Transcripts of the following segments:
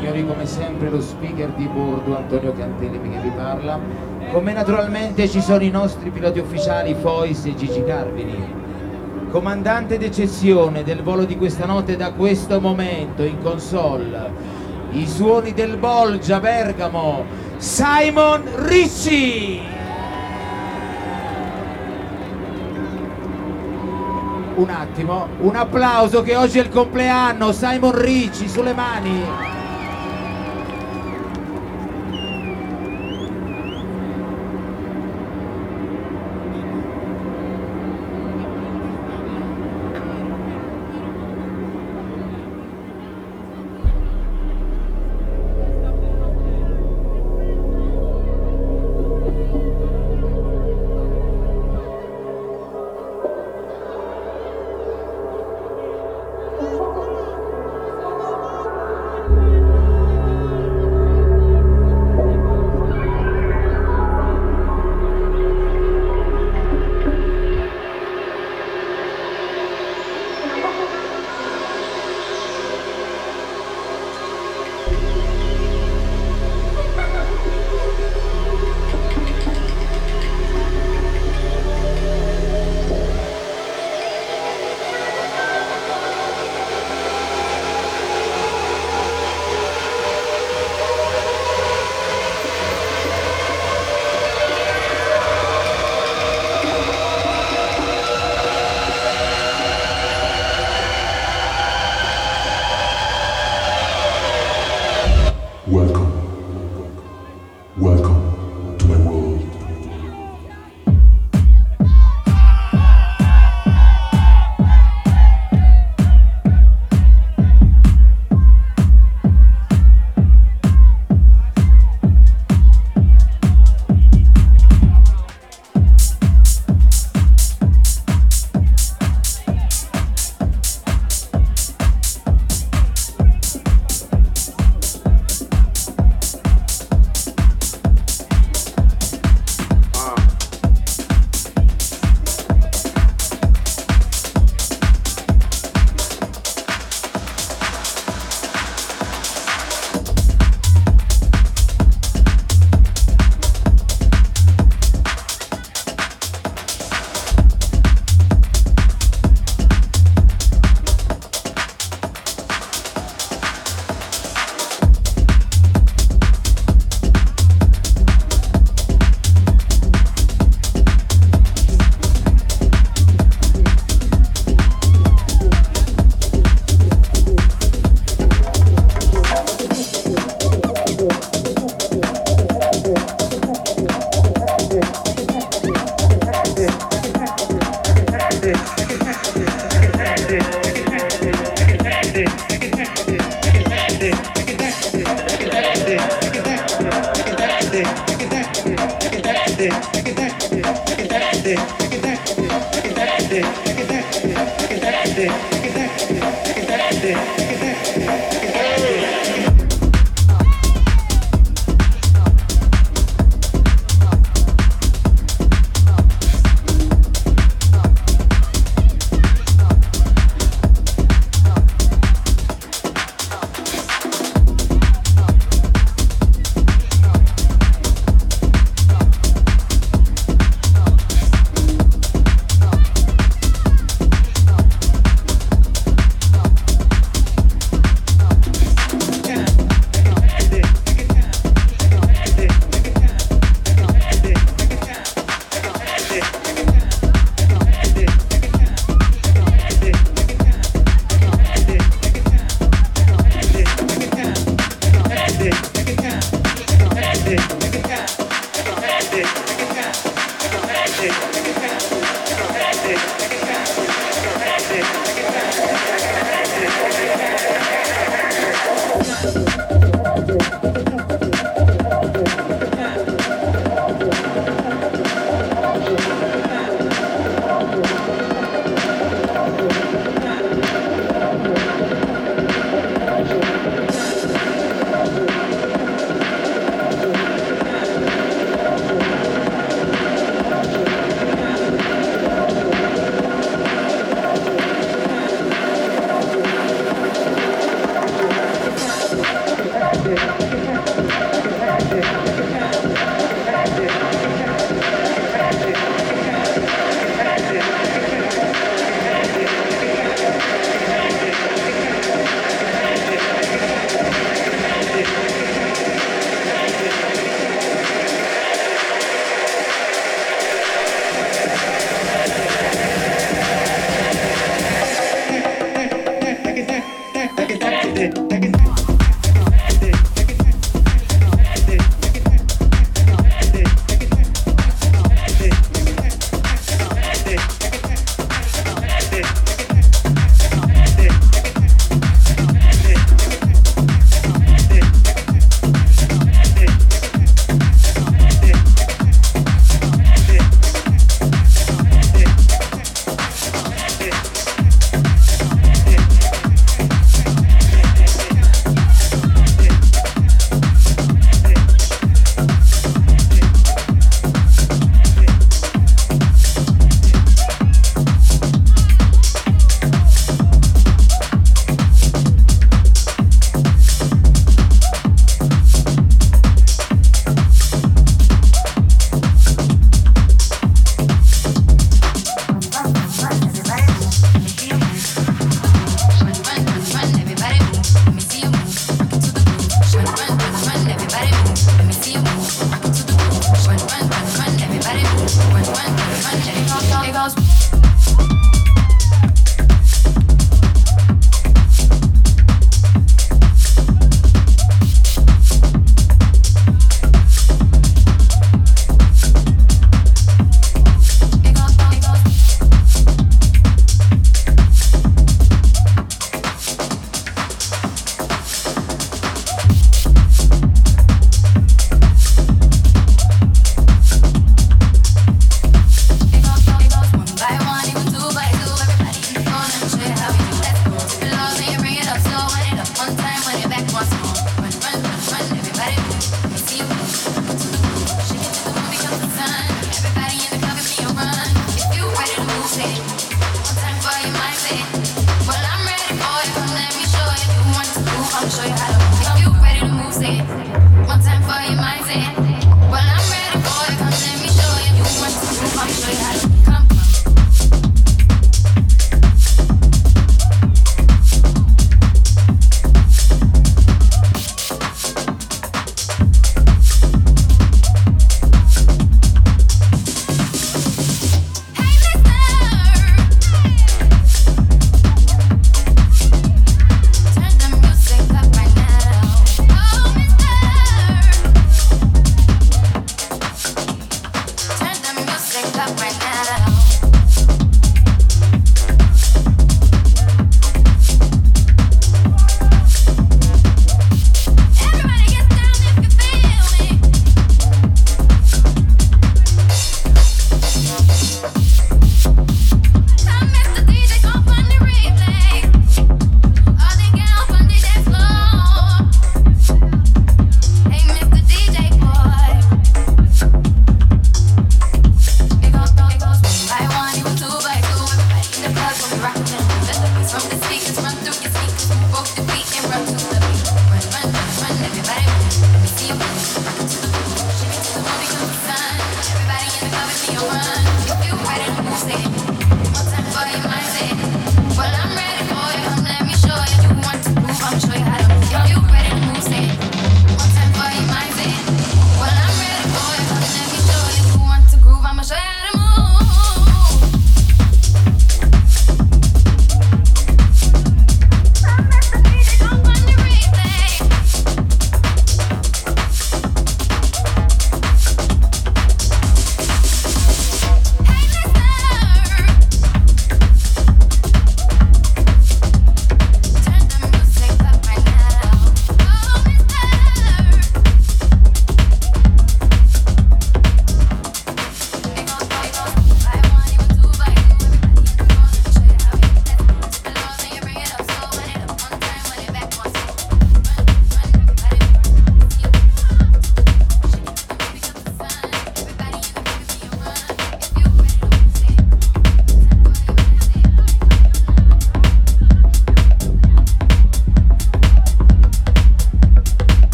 signori, come sempre lo speaker di bordo Antonio Cantelemi che vi parla. Come naturalmente ci sono i nostri piloti ufficiali Fois e Gigi Carvini. Comandante d'eccezione del volo di questa notte da questo momento in console, i suoni del Bolgia Bergamo, Simon Ricci. Un attimo, un applauso che oggi è il compleanno, Simon Ricci, sulle mani. Welcome to my world.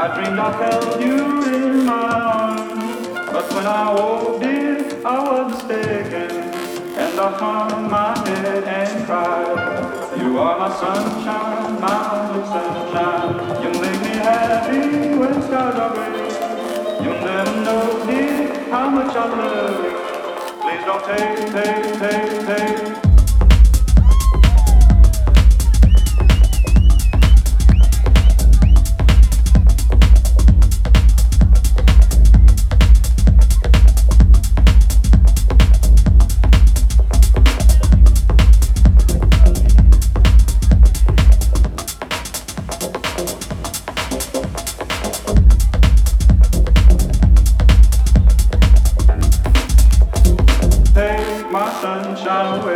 I dreamed I held you in my arms, but when I woke, dear, I was mistaken, and I hung my head and cried. You are my sunshine, my only sunshine. You make me happy when skies are gray. You'll never know, dear, how much I love you. Please don't take. Sunshine away.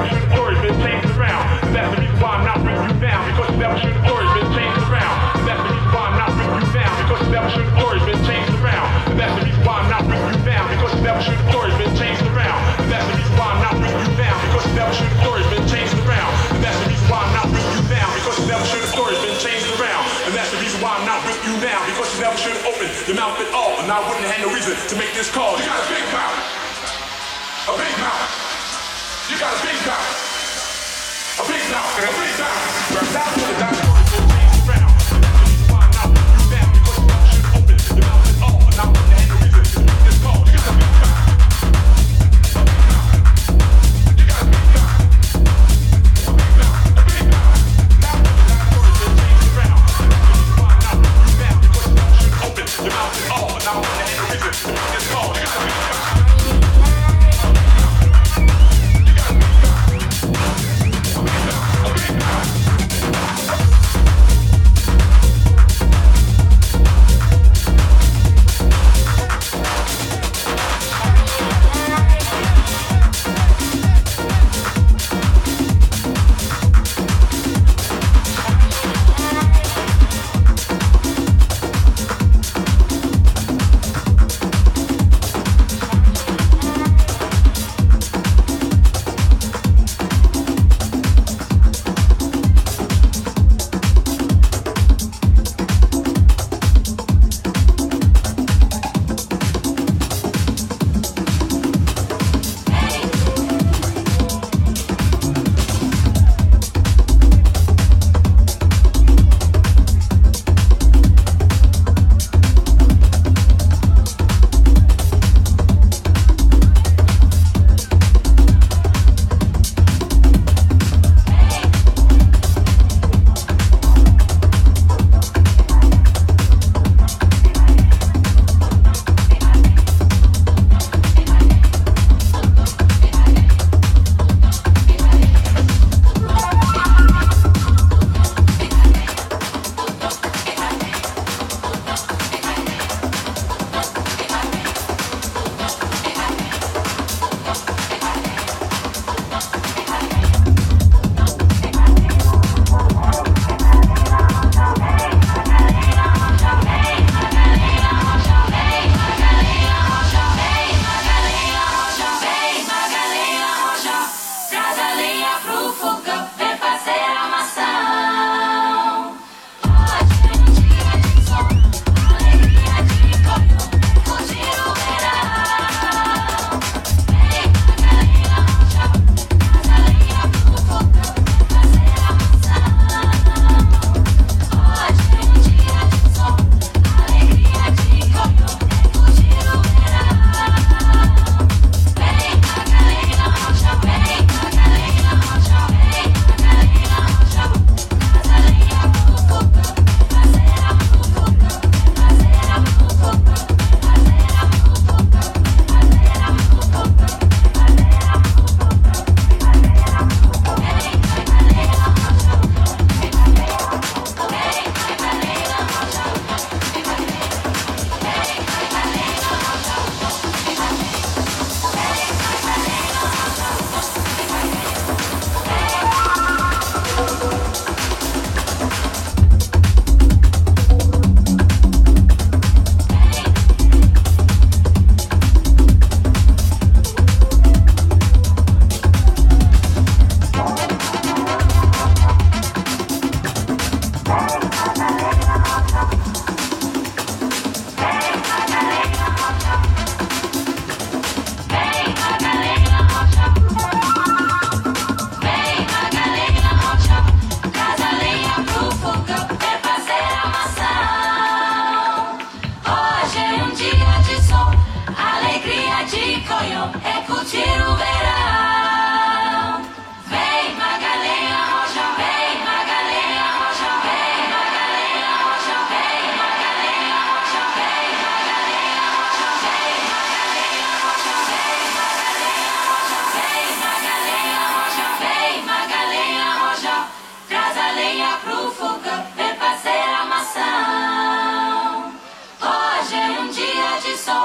never should have stories been changed around. And that's the reason why I'm not bringing you down, because you never should have stories been changed around. And that's the reason why I'm not bringing you down, because you never should have stories been changed around. And that's the reason why I'm not bringing you down, because you never should have stories been changed around. And that's the reason why I'm not bringing you down, because you never should have stories been changed around. And that's the reason why I'm not bringing you down, because you never should have stories been changed around. And that's the reason why I'm not with you now, because you never should have opened your mouth at all. And I wouldn't have no reason to make this call. You got a big mouth. A big mouth. You got a big mouth. A big mouth. A big mouth. That's what the doctor been changed around. And that's the reason why I'm not with you now, because you never should have opened your mouth at all. And I wouldn't have no reason to make this call. You got a big mouth. You got a big mouth. A big mouth. A big mouth. That's what the doctor been changed around. And that's the reason why I'm not with you now, because you never should have opened your mouth at all. And I wouldn't have no reason to make this call. You got a big mouth.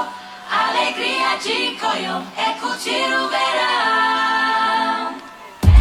alegria de Coió é curtir o verão.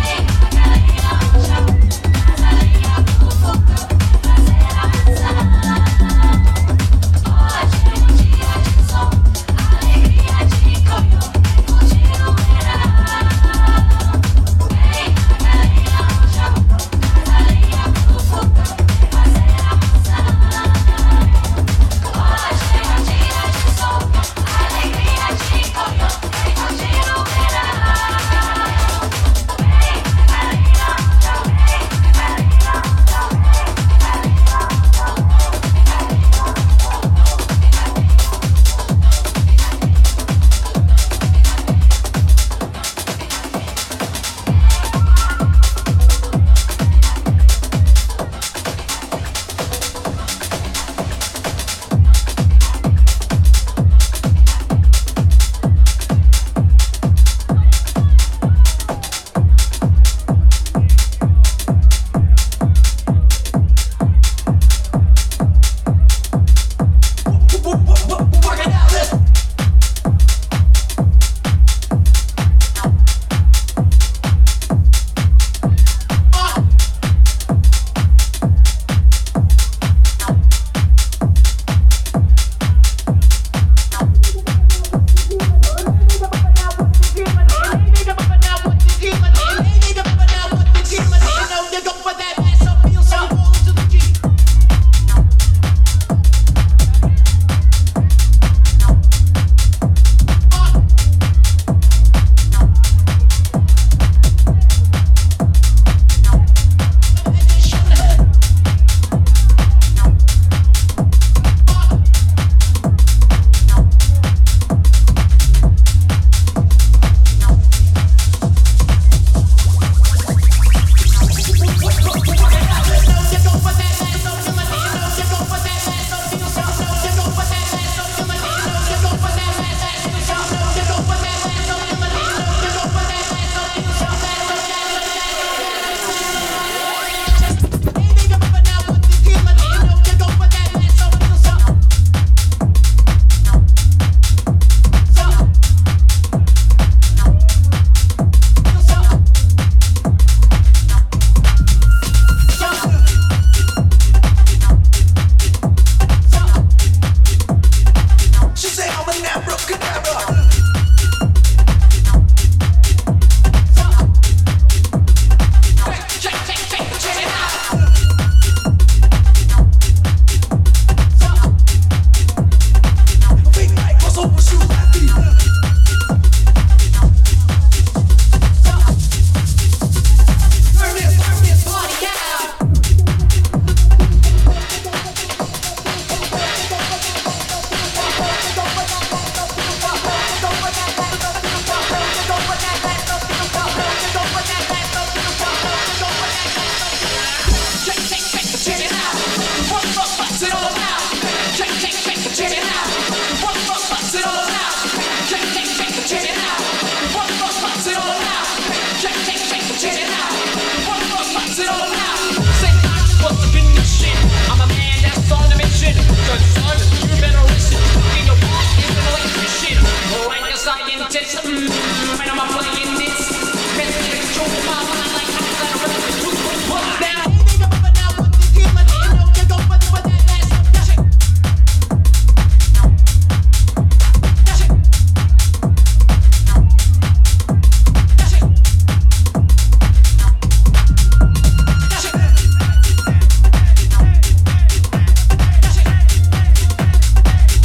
attention, son. You better listen. In your boss, you better listen. Like a scientist, when I'm playing this, it's true, my mind like I'm now.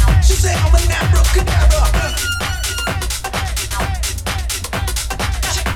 She said I'm an abracadabra.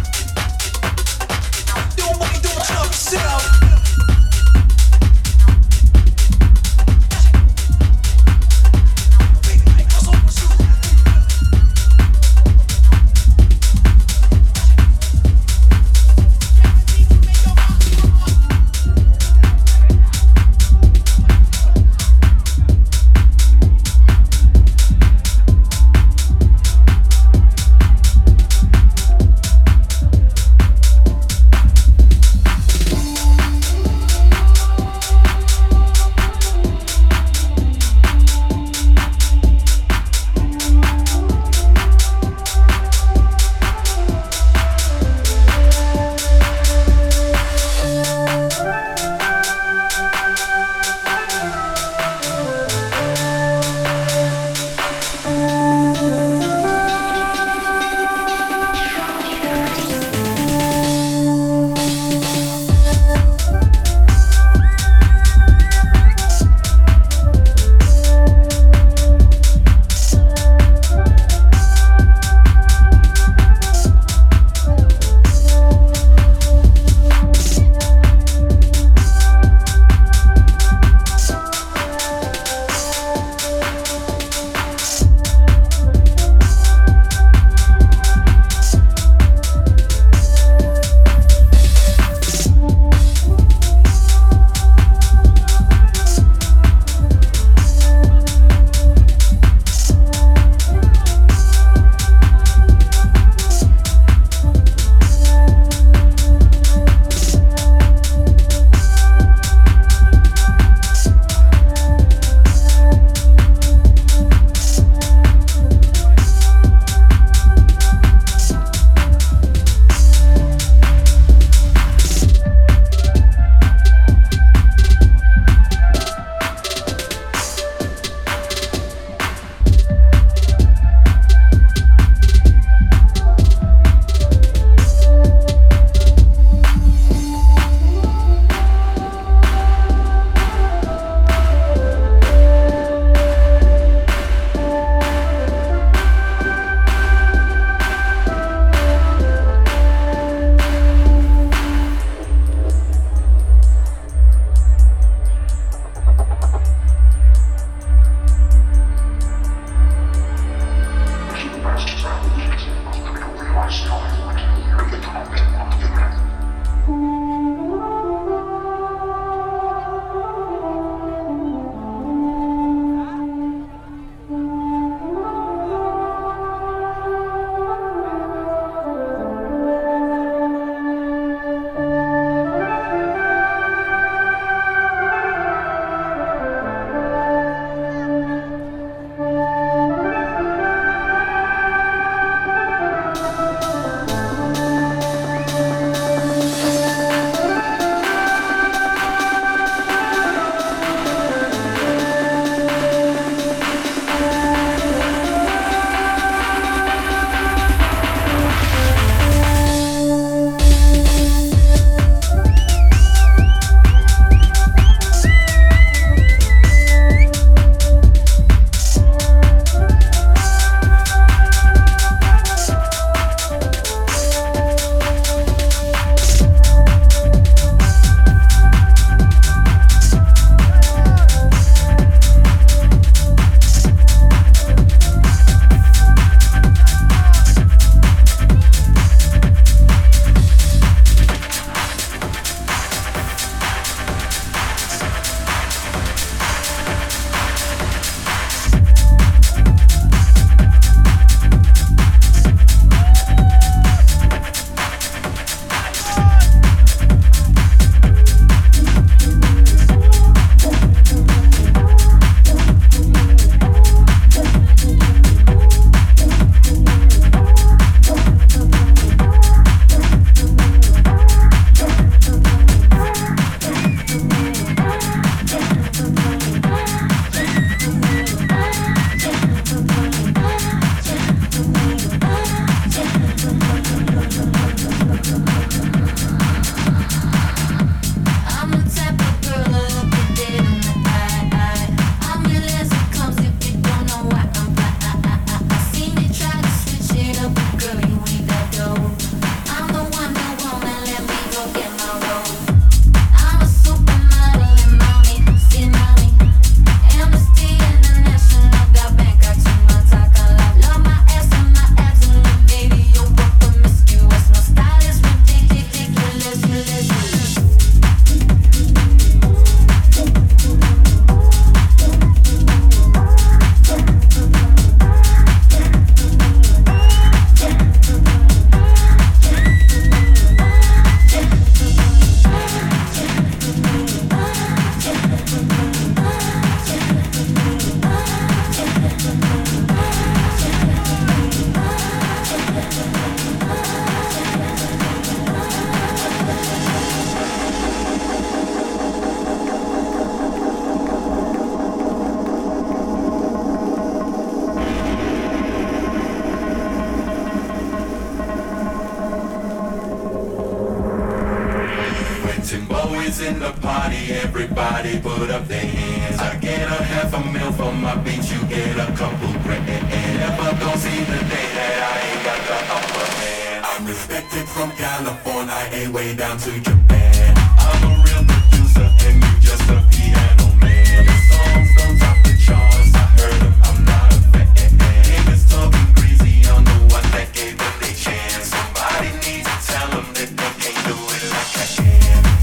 Timbo is in the party, everybody put up their hands. I get a half a mil for my beats, you get a couple grand. Never gon' see the day that I ain't got the upper hand. I'm respected from California, way down to Japan. I'm a real producer and you just a piano man. Your songs don't top the charts, I heard them, I'm not a fan. Niggas talking crazy, I'm the one that gave them their chance. Somebody needs to tell them that they can't do it like I can.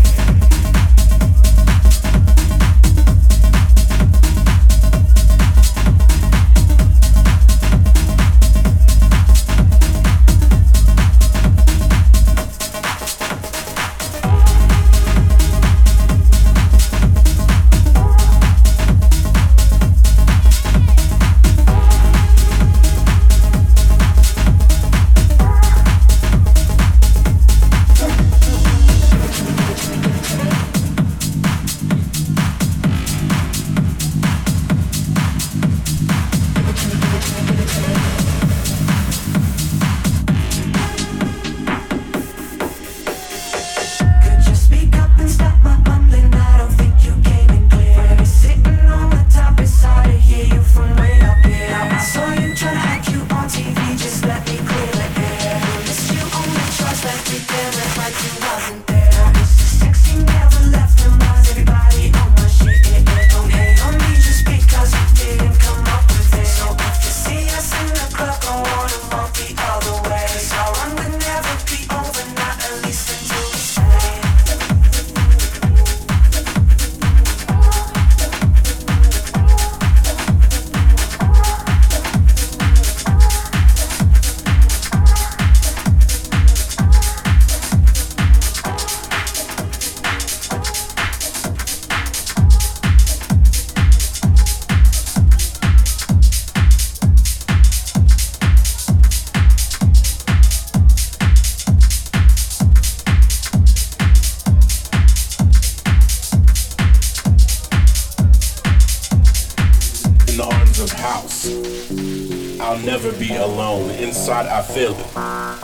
Inside I feel it,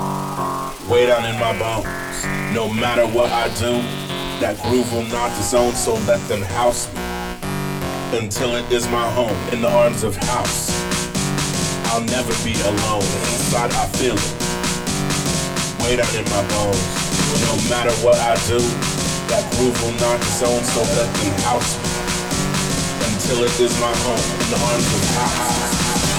way down in my bones. No matter what I do, that groove will not disown. So let them house me until it is my home. In the arms of house, I'll never be alone. Inside I feel it, way down in my bones. No matter what I do, that groove will not disown. So let them house me until it is my home. In the arms of house.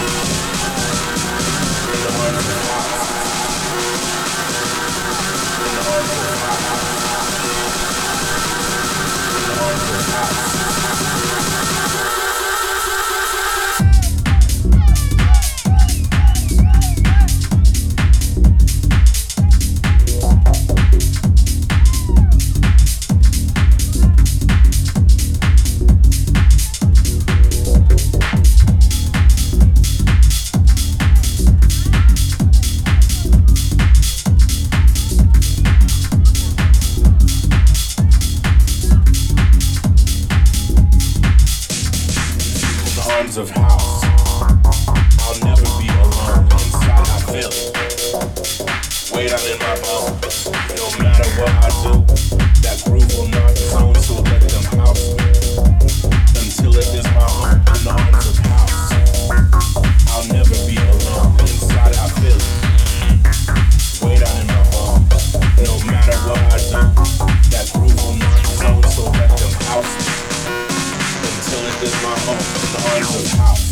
Of house, I'll never be alone. Inside I feel it, way down in my bones. No matter what I do, that groove will not disown. So let them house me until it is my home. In the arms of house, I'll never be alone. Inside I feel it, way down in my bones. No matter what I do, that groove will not disown. So let them house me until it is my home. In the arms of house.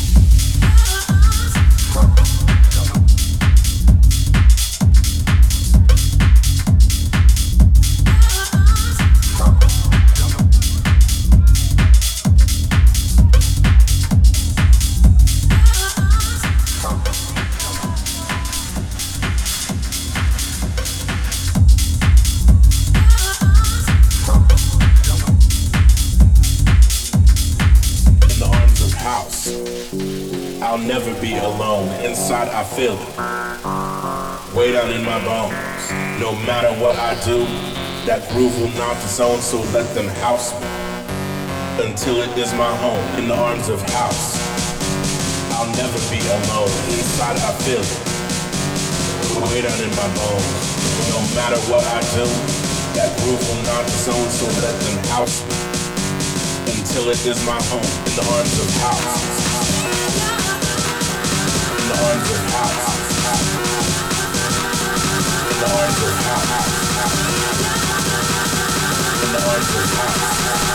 I'll never be alone. Inside I feel it, way down in my bones. No matter what I do, that groove will not disown. So let them house me until it is my home. In the arms of house, I'll never be alone. Inside I feel it, way down in my bones. No matter what I do, That groove will not disown, so let them house me until it is my home. In the arms of house. In the arms of house. In the arms of house. In the arms of house.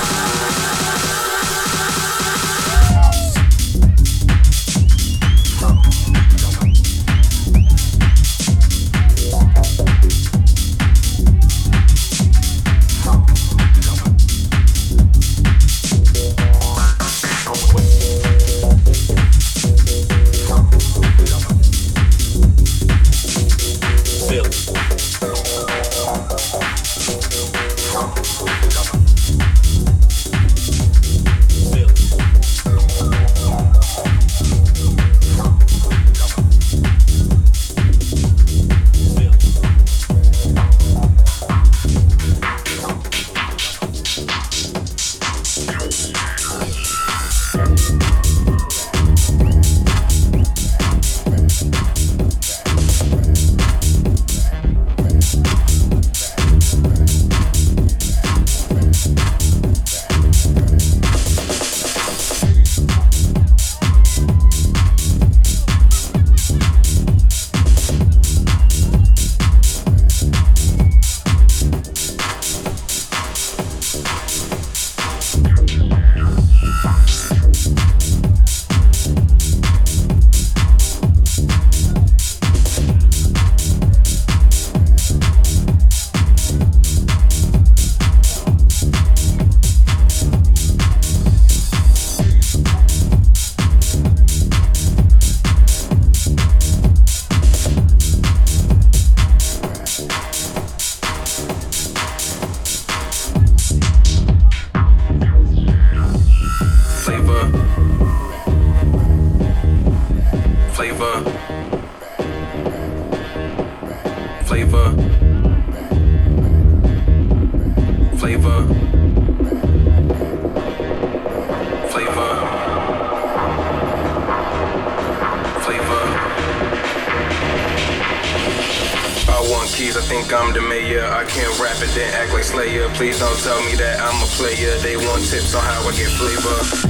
Please don't tell me that I'm a player. They want tips on how I get flavor.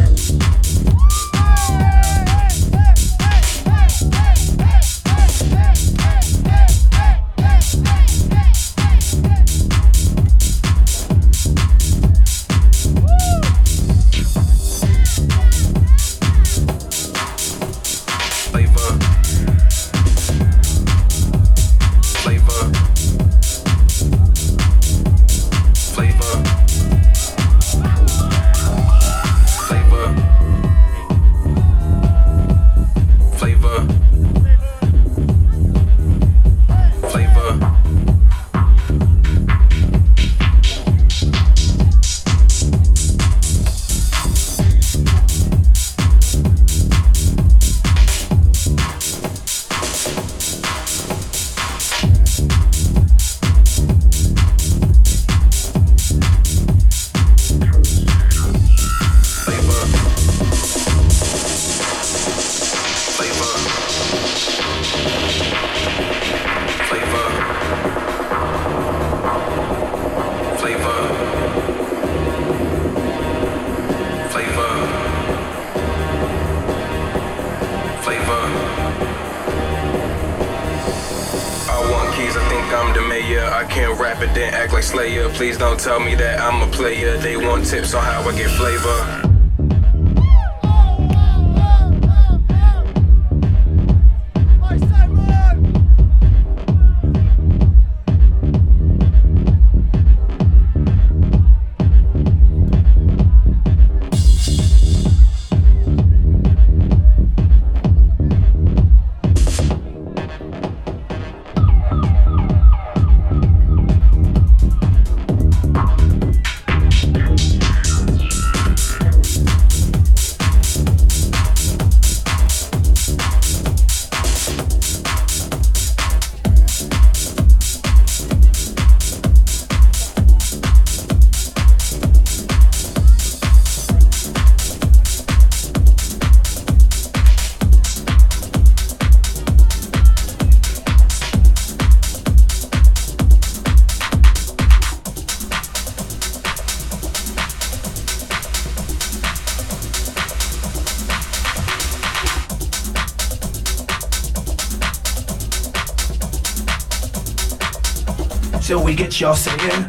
Please don't tell me that I'm a player. They want tips on how I get flavor. till we get y'all saying.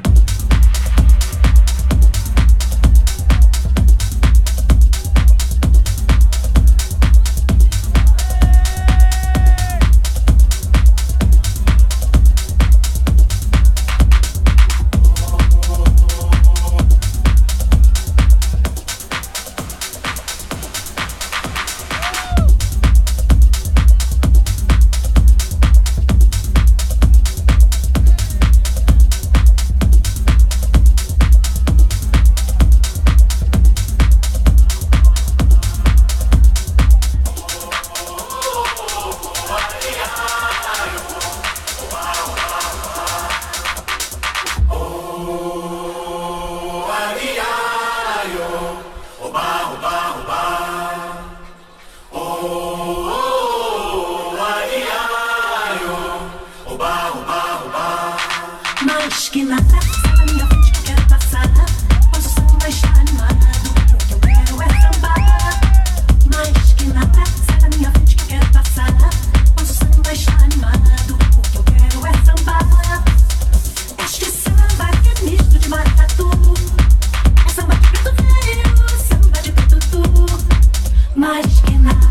Mas que nada sai da minha frente que eu quero passar. Pois o samba está animado, o que eu quero é sambar. Mas que nada sai da minha frente que eu quero passar. Pois o samba está animado, o que eu quero é sambar. Este samba que é misto de maracatu, é samba de preto velho, samba de preto tu. Mas que nada,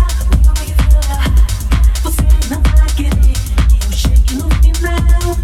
você não vai querer que eu chegue no final.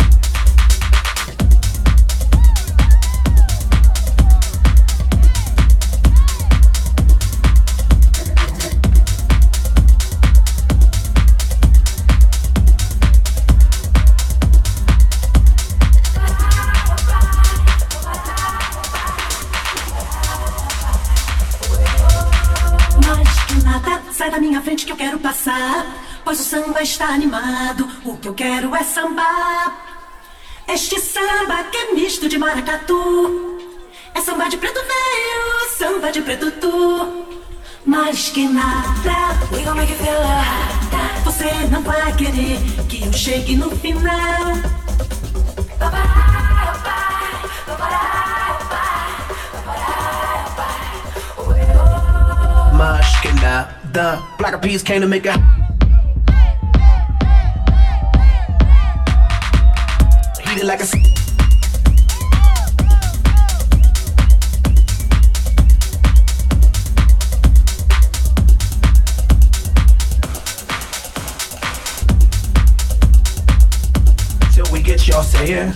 Sai da minha frente que eu quero passar, pois o samba está animado, o que eu quero é sambar. Este samba que é misto de maracatu, é samba de preto velho, samba de preto tu. Mas que nada, we gon' make it feel like. Você não vai querer que eu chegue no final. Mas que nada, Black Eyed Peas came to make a heated like a till we get y'all saying.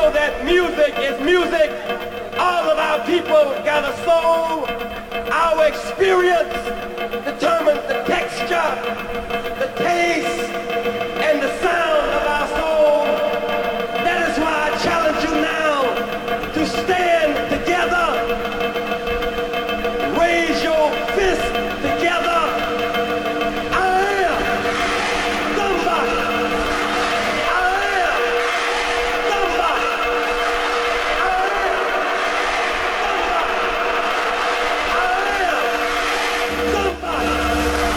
know that music is music. All of our people got a soul. Our experience determines the texture, the taste, and the sound of our soul. That is why I challenge you now to stand together, raise your fist together. I am somebody. I am somebody. I am somebody. I am somebody.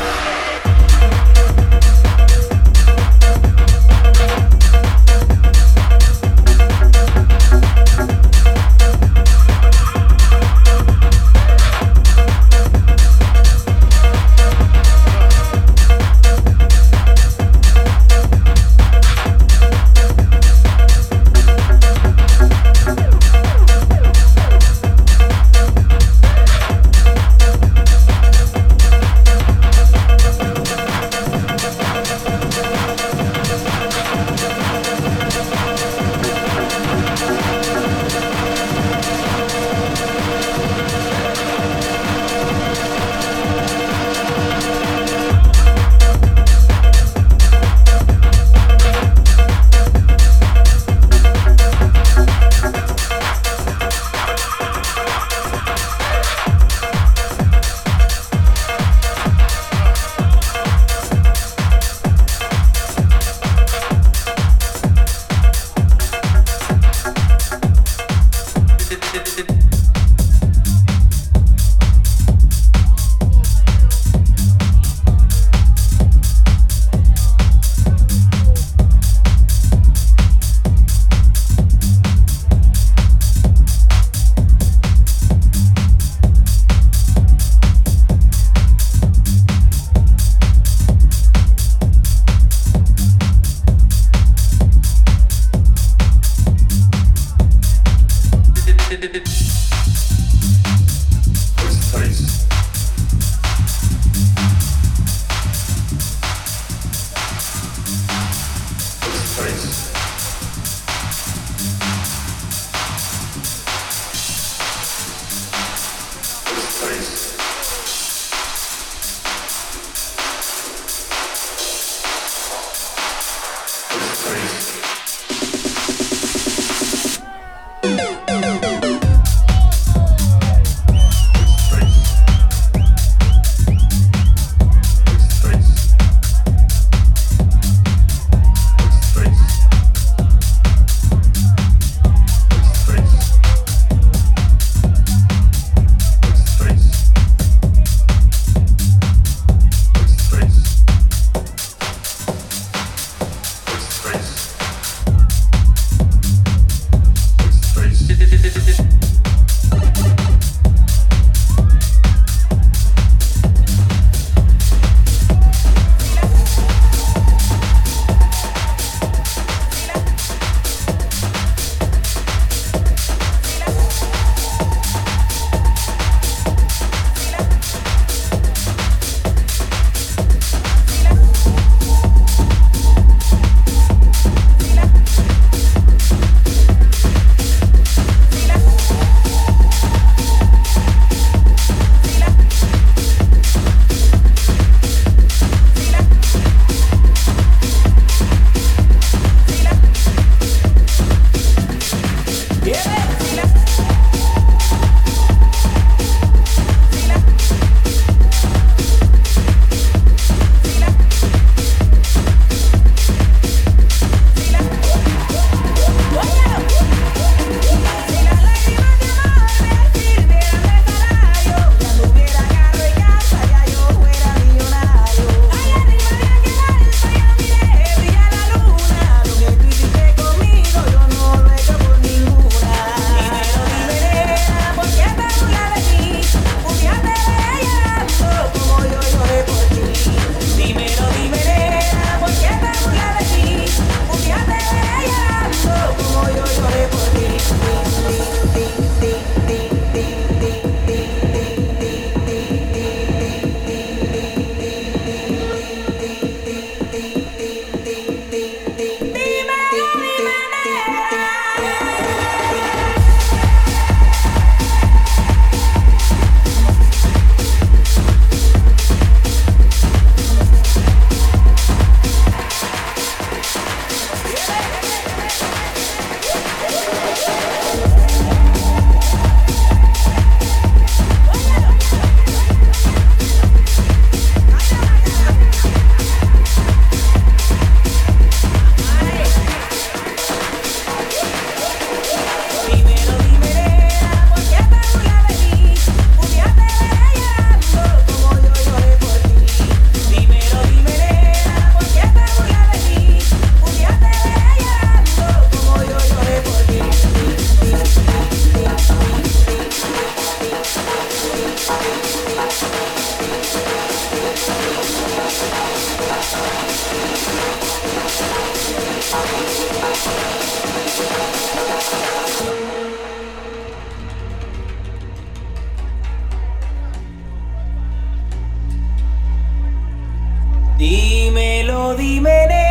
Dímelo, dime negra,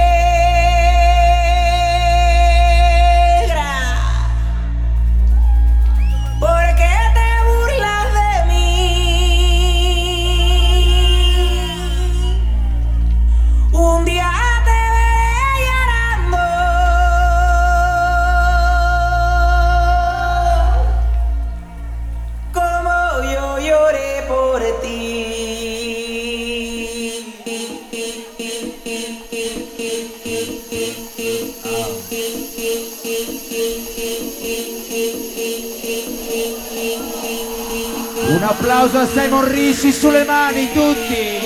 ¿por qué te burlas de mí? Un día te veré llorando, como yo lloré por ti. Un applauso a Simon Ricci, sulle mani tutti.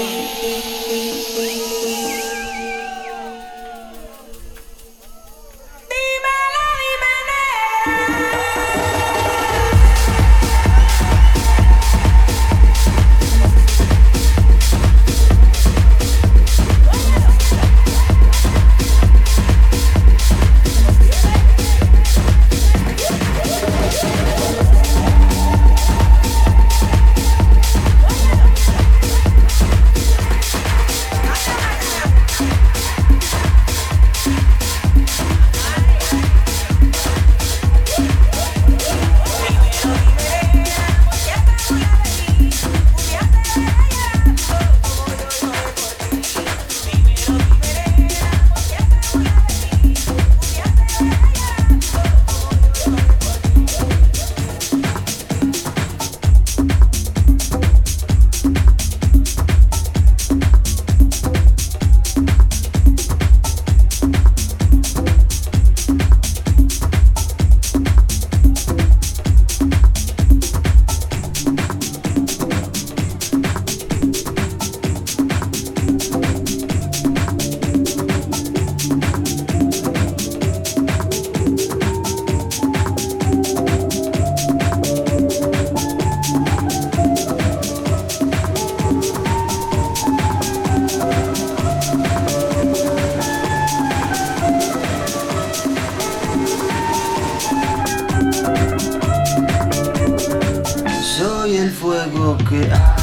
Soy el fuego que arde.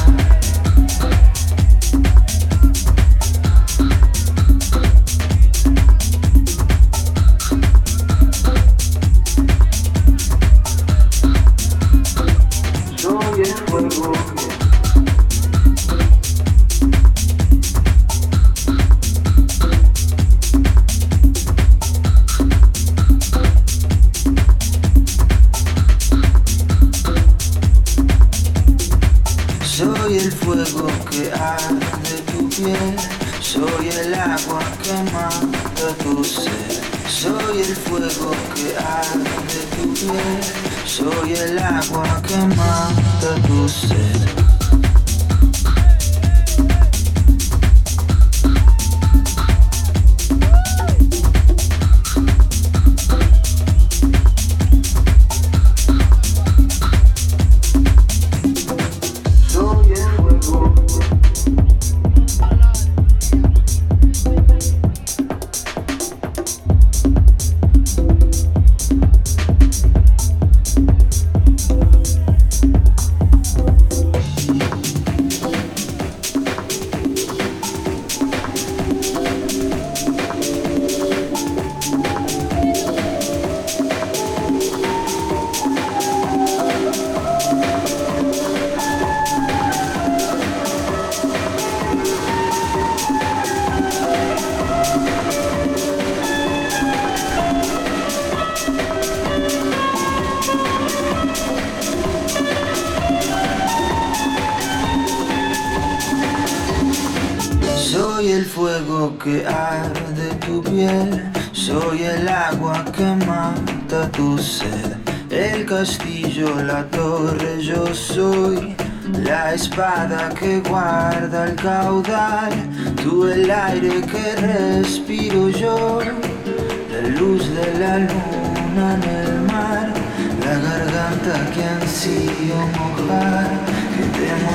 Soy el fuego que soy el fuego que arde tu piel, soy el agua que mata tu sed. Soy el fuego que arde tu piel, soy el agua que mata tu sed. Soy el fuego que arde tu piel, soy el agua que mata tu sed. El castillo, la torre, yo soy la espada que guarda el caudal. Tú el aire que respiro yo, la luz de la luna en el mar, la garganta que ansío mojar, que te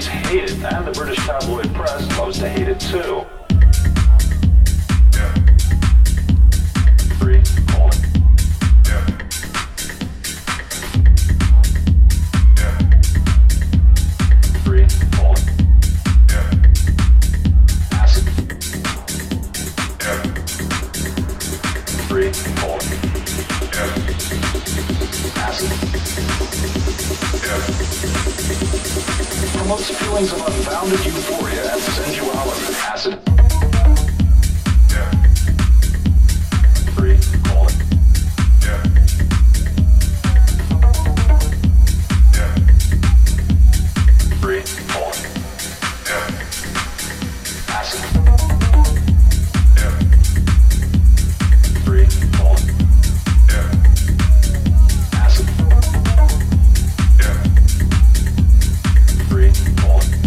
hate it, and the British tabloid press loves to hate it too. Free, hold it. Free, hold it. Acid. Free, hold it. Acid. Promotes feelings of unbounded euphoria and sensuality. Acid. Free, hold it. Free, hold it. Acid. Free, hold it. Acid. Free, hold it.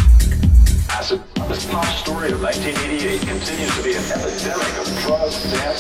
Acid. This pop story of 1988 continues to be an epidemic of drugs,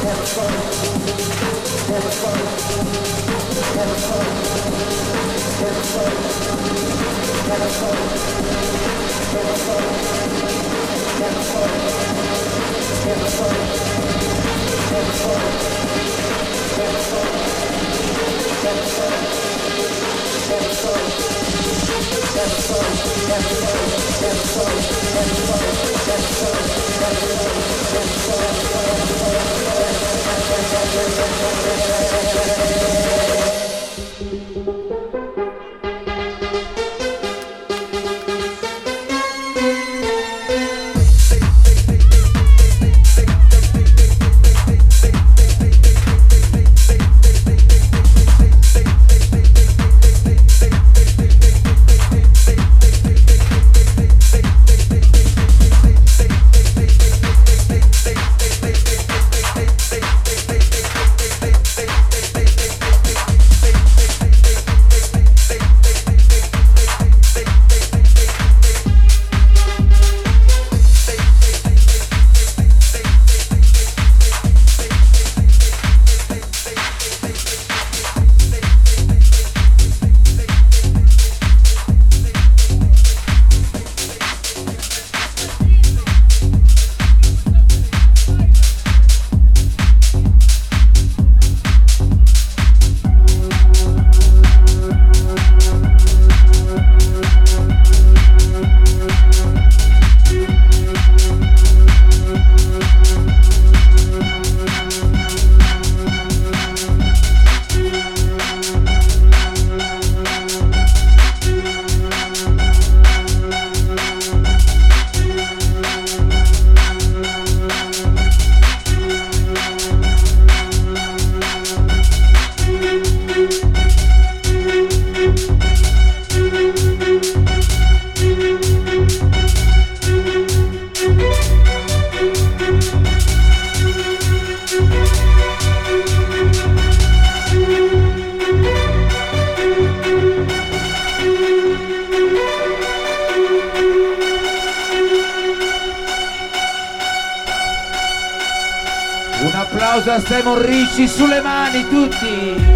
Un applauso a Simon Ricci, sulle mani tutti!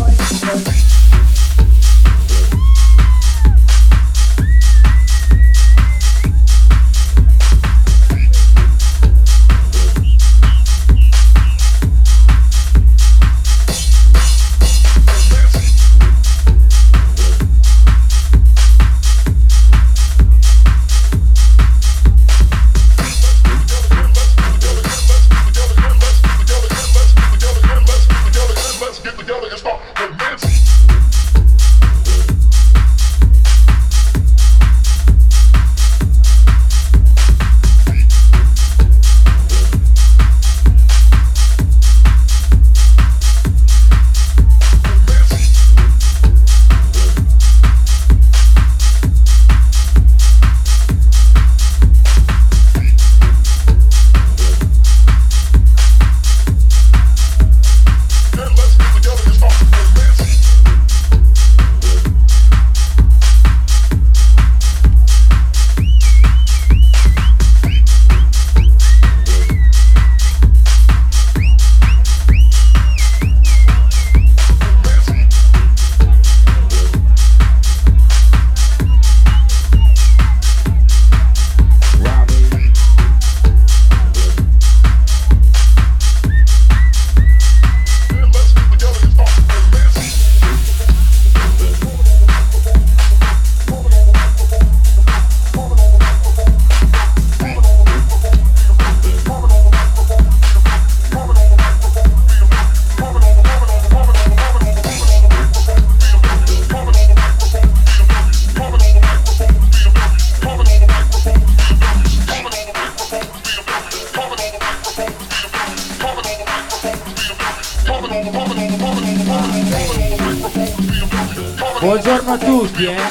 Buongiorno a tutti, e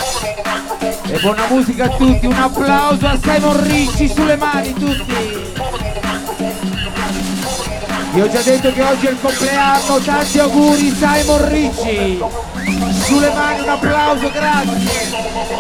buona musica a tutti. Un applauso a Simon Ricci, sulle mani tutti. Vi ho già detto che oggi è il compleanno, tanti auguri Simon Ricci. Sulle mani un applauso, grazie.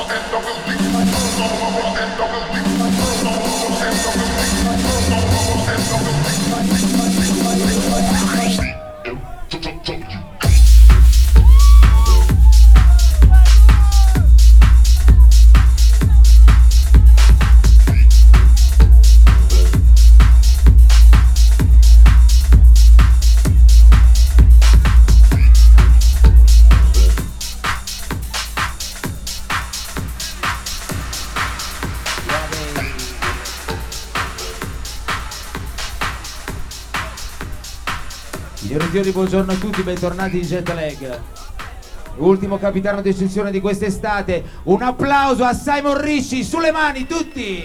Buongiorno a tutti, bentornati in Jet Lag. Ultimo capitano d'eccezione di quest'estate. Un applauso a Simon Ricci, sulle mani tutti.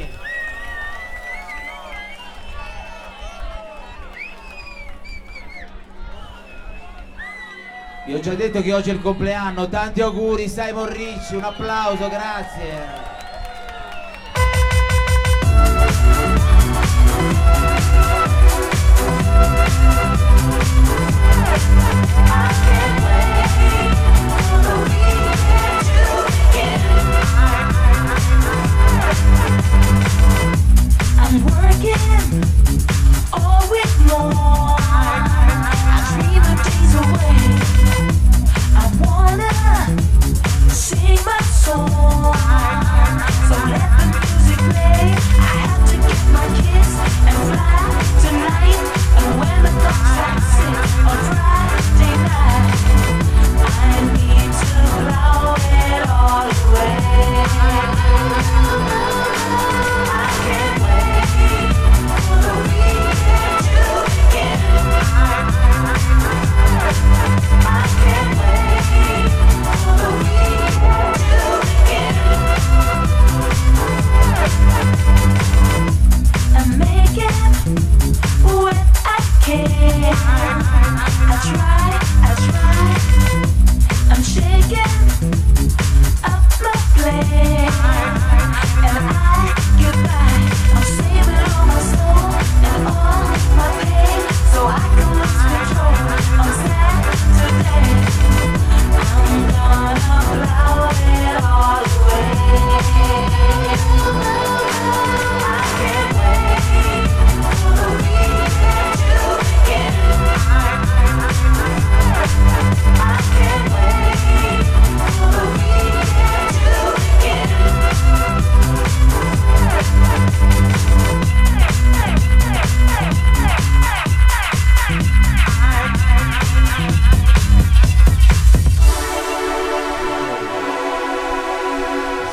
Vi ho già detto che oggi è il compleanno, tanti auguri Simon Ricci, un applauso, grazie. I'm working all week long. I dream of days away. I wanna sing my song. So let the music play. I have to get my kiss and fly tonight. And when the clock strikes 6 on Friday night.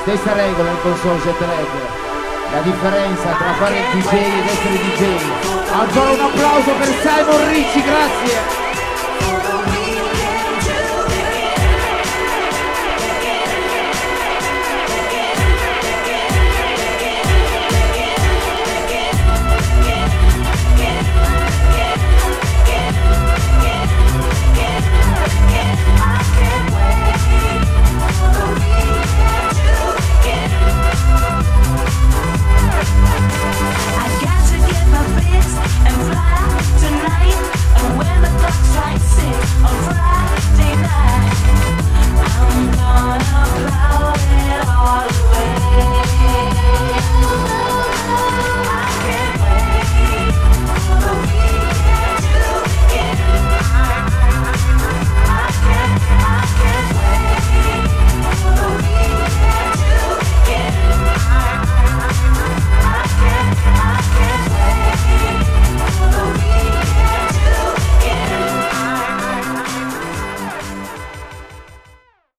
Stessa regola in console jet lag. La differenza tra fare il DJ ed essere DJ. Ancora un applauso per Simon Ricci, grazie.